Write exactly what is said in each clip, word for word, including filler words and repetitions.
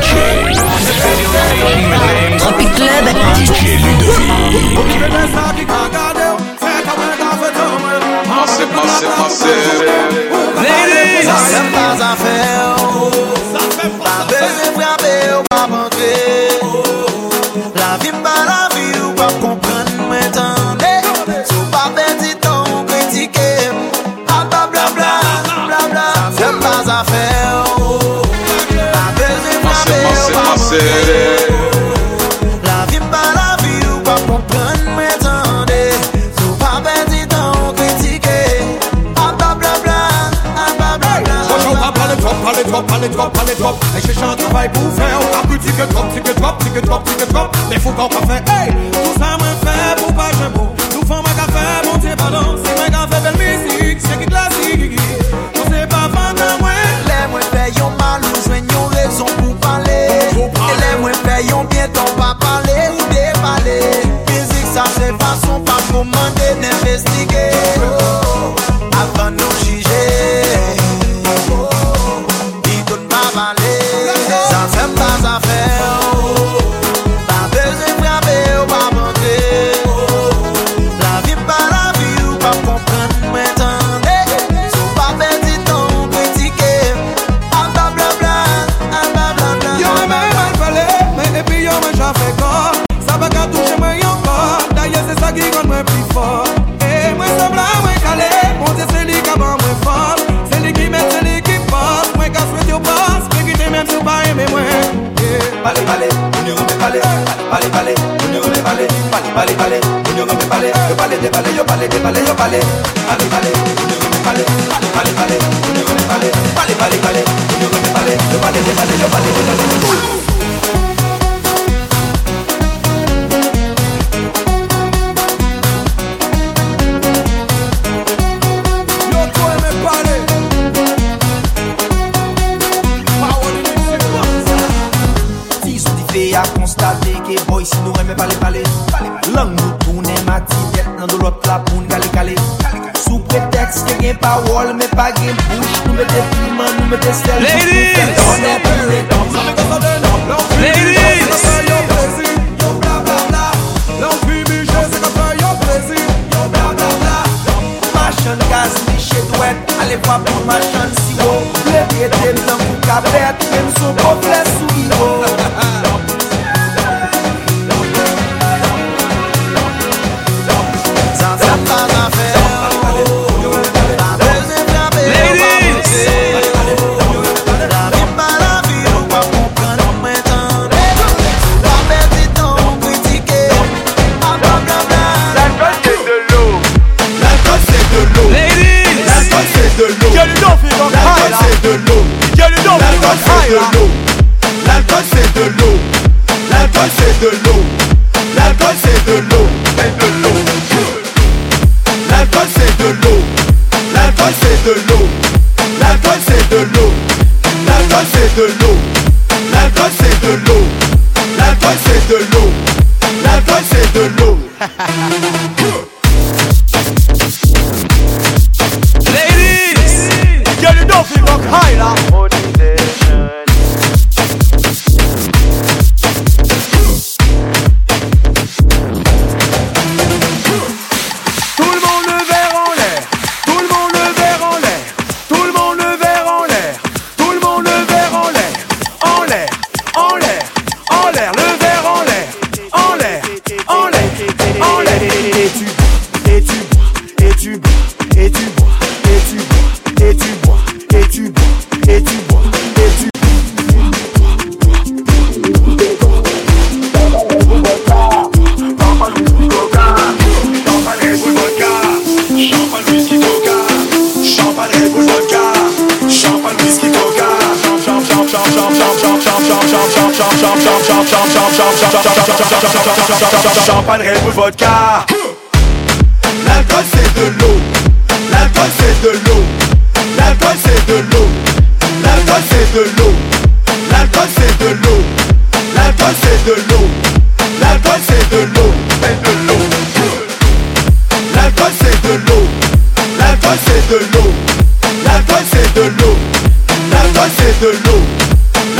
Tropic Club. D J Ludovic. Passez, passez, passez. Ladies, ça c'est pas à faire. Pas besoin de frapper ou pas rentrer. La vie pas la vie ou pas comprendre maintenant. Sous pas petit temps critiquer. Ah bla bla bla bla bla. Ça c'est pas à faire. Pas besoin de frapper ou pas rentrer. La vie pas la vie ou pas comprendre maintenant. Sous pas petit temps critiquer. Ah bla bla bla ah bla bla bla. Parle trop, parle trop, parle trop, parle trop. Et cherche un travail pour faire. Un petit que trop, petit que trop, petit que trop, petit que trop. Mais faut qu'on pas faire. Hey, tout ça me fait pour pas jouer beau. Nous faisons ma café, mon Dieu, pardon. C'est ma café, belle musique, c'est qui classique. On sait pas vendre à moi. Les moins payons mal, nous joignons raison pour parler. Et les moins payons bien, t'en pas parler ou déballer. Musique, ça c'est façon pas commander, d'investiguer. Avant de nous juger. Ça fait pas à faire. Pas besoin de frapper ou pas rentrer. La vie pas la vie ou pas comprendre maintenant. Sous pas petit temps critiquer. Ah bla bla bla, ah bla bla bla. Yo m'a mal parlé, mais et puis yo m'a déjà fait corps. Ça va qu'à toucher moi encore. D'ailleurs c'est ça qui rend moi plus fort. Et moi semble à moi calé. Mon Dieu c'est lui qui a moi fort. C'est lui qui met, c'est lui qui passe. Moi qu'à souhaiter au passe. Même si vous pas aimé moi. Parlez, parlez, on ne remet parler. Parlez, parlez, on ne remet parler. Parlez, parlez, parlez, on ne remet parler. Yo parlez, déparlez, yo parlez, déparlez, yo parlez. Parlez, parlez, on ne remet parler. Parlez, parlez, on ne remet parler. Parlez, parlez, parlez, on ne remet parler. Yo parlez, déparlez, yo parlez, déparlez. A constater que boy si nous remet parler parler. Langue nous tourne matibet dans de l'autre la pour nous caler caler. Sous prétexte que gain parole mais pas gain bouche. Nous mettez piment, nous mettez sel. Ladies, Machin gaz, miché douette. Allez voir pour machin si haut. Le pied de blanc pour cabette. Même son complet sous l'eau. L'alcool c'est de l'eau. L'alcool c'est de l'eau. L'alcool c'est de l'eau. L'alcool c'est de l'eau. L'alcool c'est de l'eau. L'alcool c'est de l'eau. L'alcool c'est de l'eau. L'alcool c'est de l'eau. L'alcool c'est de l'eau. L'alcool c'est de l'eau. ladies, Girl, you don't feel like high là. Champagne, Red Bull, vodka. L'alcool c'est de l'eau. L'alcool c'est de l'eau. L'alcool c'est de l'eau. L'alcool c'est de l'eau. L'alcool c'est de l'eau. L'alcool c'est de l'eau. L'alcool c'est de l'eau. L'alcool c'est de l'eau. L'alcool c'est de l'eau. L'alcool c'est de l'eau. L'alcool c'est de l'eau.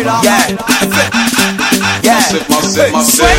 Yeah. Yeah. Massive, massive, massive.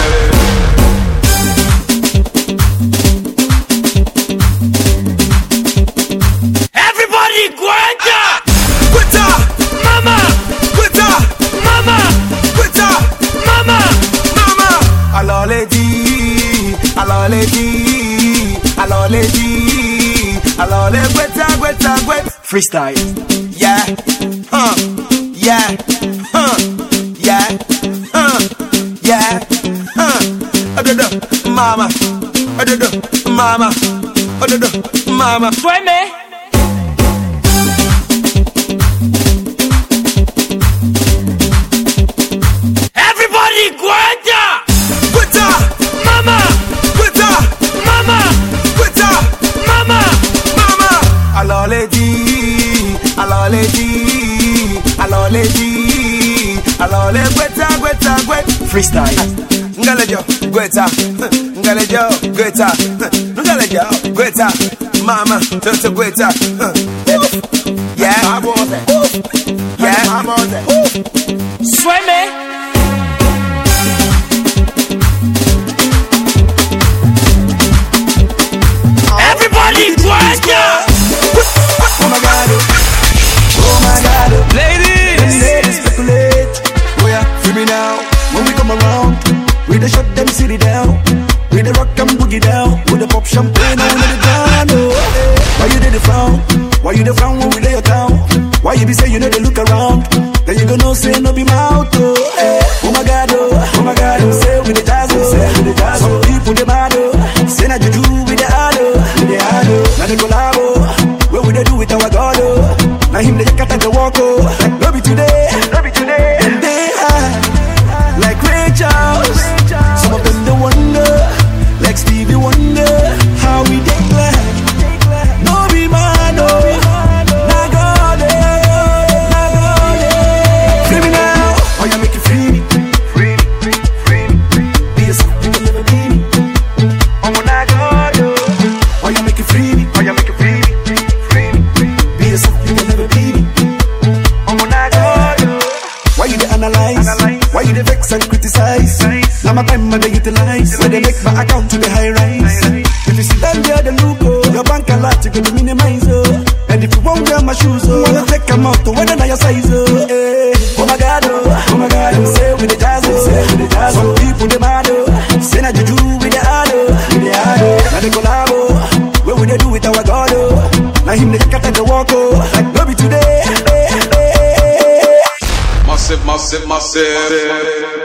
Everybody, Guanta! Quita, Mama! quita, Mama! quita, Mama! mama. Alors les dit, alors les dit, alors les dit, alors les quita, quita, quita. Freestyle. Yeah. Huh. Yeah. Huh. Yeah. Huh. Yeah. Huh. Adodo, mama. Adodo, mama. Adodo, mama. Sueme! Everybody, Guanta! Quita, Mama! quita, Mama! quita, Mama! mama. Alors les dit, alors les dit, alors les dit, alors les quita, quita, quita. Freestyle. Ngalejo, quita, ngalejo, quita, ngalejo, quita, mama, toto quita. Yeah, yeah, Sueme! Everybody, Guanta! oh my God, oh my God. Ladies, Ladies speculate, oh yeah, free me now. When we come around, we the shut them city down. We the rock and boogie down. We the pop champagne on the ground. Oh, why you did the frown? Why you the frown when we lay your town? Why you be say you know they look around? Then you gonna say no be mouth. Oh, eh. Oh my God, oh, oh my God. Say with the jazz, oh, say with the jazz. Some people they mad, oh. Say na juju with the hard, oh, with the hard, oh. Now they collab, oh. What would they do with our God, oh? Now him they cut and the walk, oh. Like no be today, no be today. And they high, like Ray Charles. Some of them they wonder, like Stevie Wonder, how we take glad. No be man, no. Nah God, eh, nah God, eh. Free me now, oh you make it free me, free me, free me, free me. Be yourself, you can never be me. Oh nah God, oh you make it free me, oh you make it free me, free me, free me. Be yourself, you can never be me. Oh nah God, why you dey analyze? Why you dey vex and criticize? Now my time I dey utilize. When they make my account to the high rise. If you see them there, the look, oh, your bank a lot, you gonna minimize, oh. And if you won't wear my shoes, oh, wanna take them out to whether na your size, oh. Eh. Oh my God, oh, oh my God, oh. Say with the jazz, oh, say with the jazz. Some people they mad, oh. Say na juju with the hard, oh, with the hard, oh. Now they collab, oh. What would they do with our God, oh? Now him they cut and the walk, oh. Like no be today. Eh, eh, eh, eh. Massive, massive, massive.